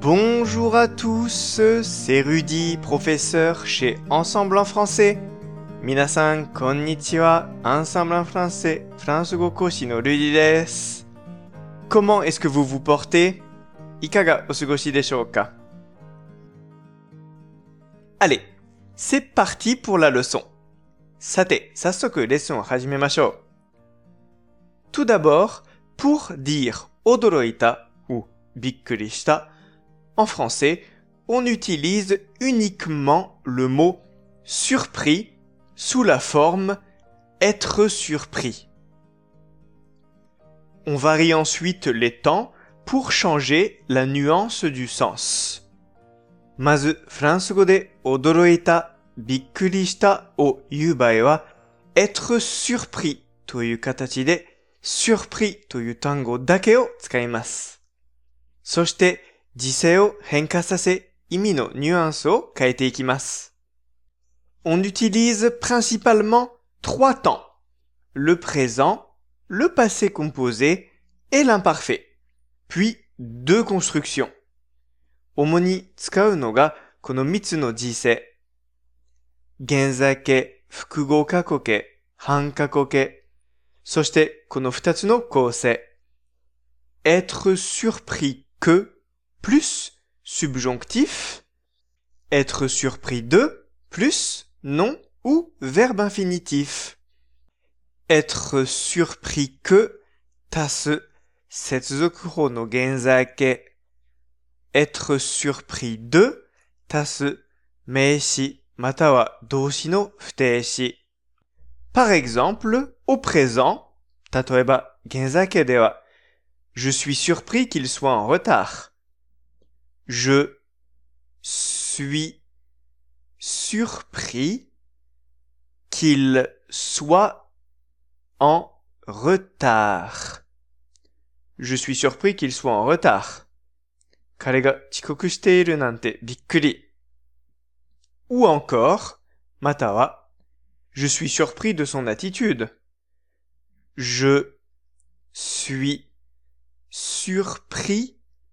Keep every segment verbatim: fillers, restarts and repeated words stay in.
Bonjour à tous, c'est Rudy, professeur chez Ensemble en français. Minasan, konnichiwa, Ensemble en français, フランス語講師の Rudy です。Comment est-ce que vous vous portez? いかがお過ごしでしょうか? Allez, c'est parti pour la leçon. さて、早速レッスンを始めましょう。Tout d'abord, pour dire 驚いた ou びっくりした、en français, on utilise uniquement le mot surpris sous la forme être surpris. On varie ensuite les temps pour changer la nuance du sens. まず、フランス語で驚いた、びっくりしたを言う場合は、être surpris という形で、surpris という単語だけを使います。そして、時制を変化させ、意味のニュアンスを変えていきます。On utilise principalement trois temps. Le présent, le passé composé et l'imparfait. Puis deux constructions. 主に使うのがこのみっつの時制。現在形、複合過去形、半過去形。そしてこのふたつの構成。être surpris que plus subjonctif, être surpris de plus nom ou verbe infinitif. être surpris que 足す接続法の現在形。être surpris de 足す名詞または動詞の不定詞。Par exemple, au présent, 例えば現在形では Je suis surpris qu'il soit en retard. Je suis surpris qu'il soit en retard. Je suis surpris qu'il soit en retard. 彼が遅刻しているなんてびっくり。Ou encore, または、Je suis surpris de son attitude. Je suis surpris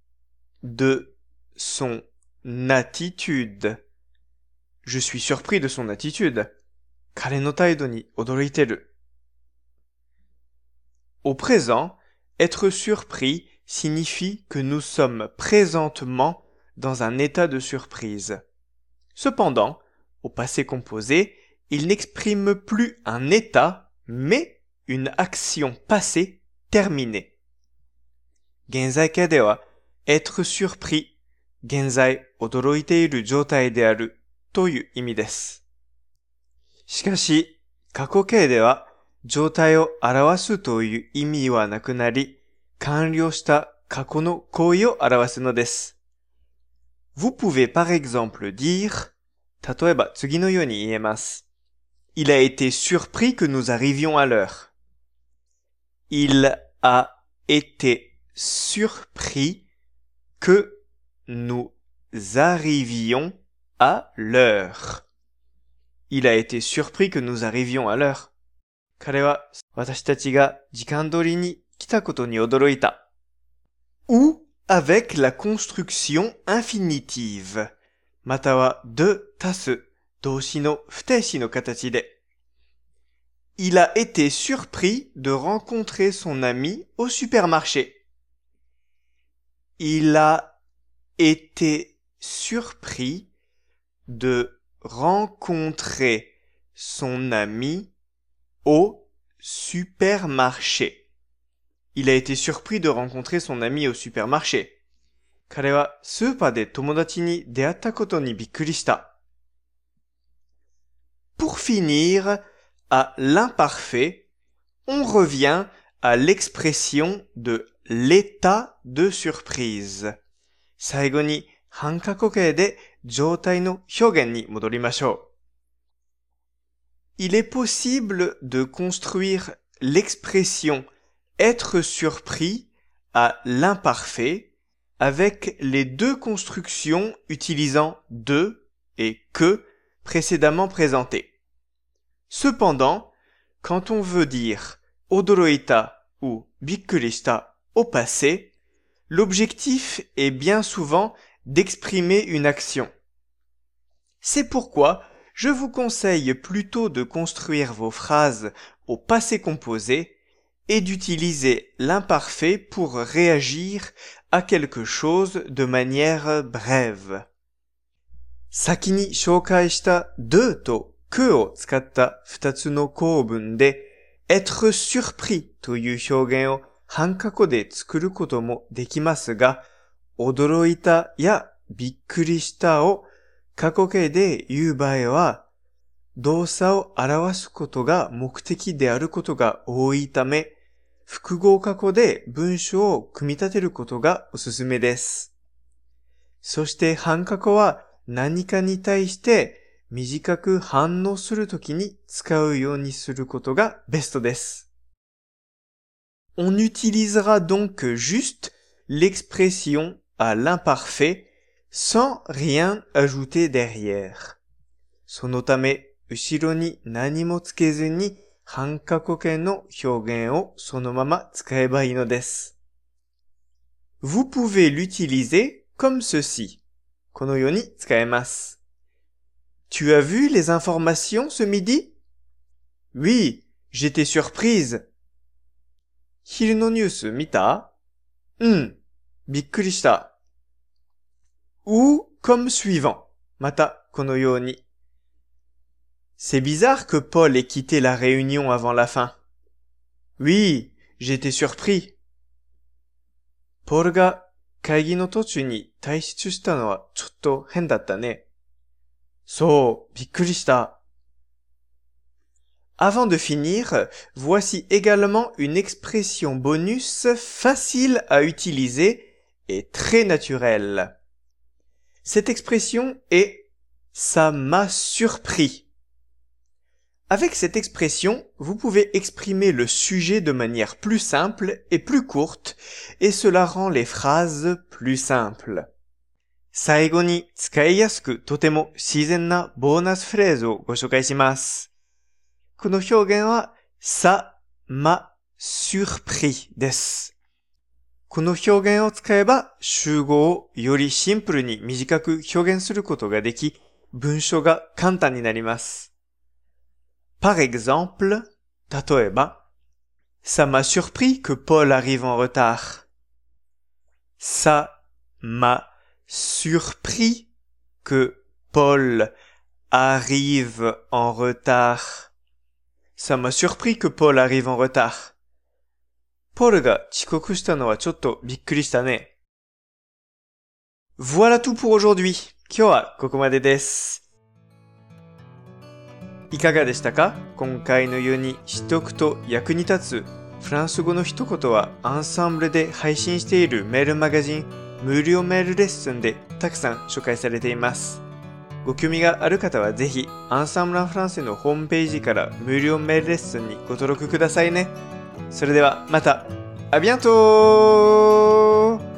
de son attitude. Je suis surpris de son attitude. 彼の態度に驚いてる。Au présent, être surpris signifie que nous sommes présentement dans un état de surprise. Cependant, au passé composé, il n'exprime plus un état, mais une action passée terminée. 現在形では、être surpris、現在驚いている状態であるという意味です。しかし、過去形では、状態を表すという意味はなくなり、完了した過去の行為を表すのです。Vous pouvez par exemple dire、例えば次のように言えます。Il a été surpris que nous arrivions à l'heure. Il a été surpris que nous arrivions à l'heure. Il a été surpris que nous arrivions à l'heure. 彼は私たちが時間通りに来たことに驚いた。Ou avec la construction infinitive. または de 足す動詞の不定詞の形で。Il a été surpris de rencontrer son ami au supermarché. Il a été surpris de rencontrer son ami au supermarché. Il a été surpris de rencontrer son ami au supermarché. 彼はスーパーで友達に出会ったことにびっくりした。Pour finir, à l'imparfait, on revient à l'expression de l'état de surprise. 最後に半過去形で状態の表現に戻りましょう。Il est possible de construire l'expression être surpris à l'imparfait avec les deux constructions utilisant de et que précédemment présentées. Cependant, quand on veut dire 驚いた ou びっくりした au passé, l'objectif est bien souvent d'exprimer une action. C'est pourquoi je vous conseille plutôt de construire vos phrases au passé composé et d'utiliser l'imparfait pour réagir à quelque chose de manière brève. 先に紹介した de と que を使った二つの構文で être surpris という表現を半過去で作ることもできますが、驚いたやびっくりしたを過去形で言う場合は、動作を表すことが目的であることが多いため、複合過去で文章を組み立てることがおすすめです。そして半過去は何かに対して短く反応するときに使うようにすることがベストです。On utilisera donc juste l'expression à l'imparfait sans rien ajouter derrière. そのため、後ろに何もつけずに半過去形の表現をそのまま使えばいいのです。Vous pouvez l'utiliser comme ceci. このように使えます。Tu as vu les informations ce midi? Oui, j'étais surprise. 昼のニュース見た？うん、びっくりした。Ou comme suivant. また、このように。C'est bizarre que Paul ait quitté la réunion avant la fin. Oui, j'étais surpris. Paul が会議の途中に退出したのはちょっと変だったね。そう、びっくりした。Avant de finir, voici également une expression bonus facile à utiliser et très naturelle. Cette expression est « ça m'a surpris ». Avec cette expression, vous pouvez exprimer le sujet de manière plus simple et plus courte, et cela rend les phrases plus simples. 最後に使いやすくとても自然なボーナスフレーズをご紹介します。この表現は、ça m'a surpris です。この表現を使えば、集合をよりシンプルに短く表現することができ、文章が簡単になります。Par exemple, 例えば、ça m'a surpris que Paul arrive en retard. Ça m'a surpris que Paul arrive en retard. Ça m'a surpris que Paul arrive en retard. ポールが遅刻したのはちょっとびっくりしたね。Voilà tout pour aujourd'hui. 今日はここまでです。いかがでしたか？今回のように知っておくと役に立つフランス語の一言はアンサンブルで配信しているメールマガジン無料メールレッスンでたくさん紹介されています。ご興味がある方はぜひアンサンブル・アン・フランセのホームページから無料メールレッスンにご登録くださいね。それではまた。À bientôt!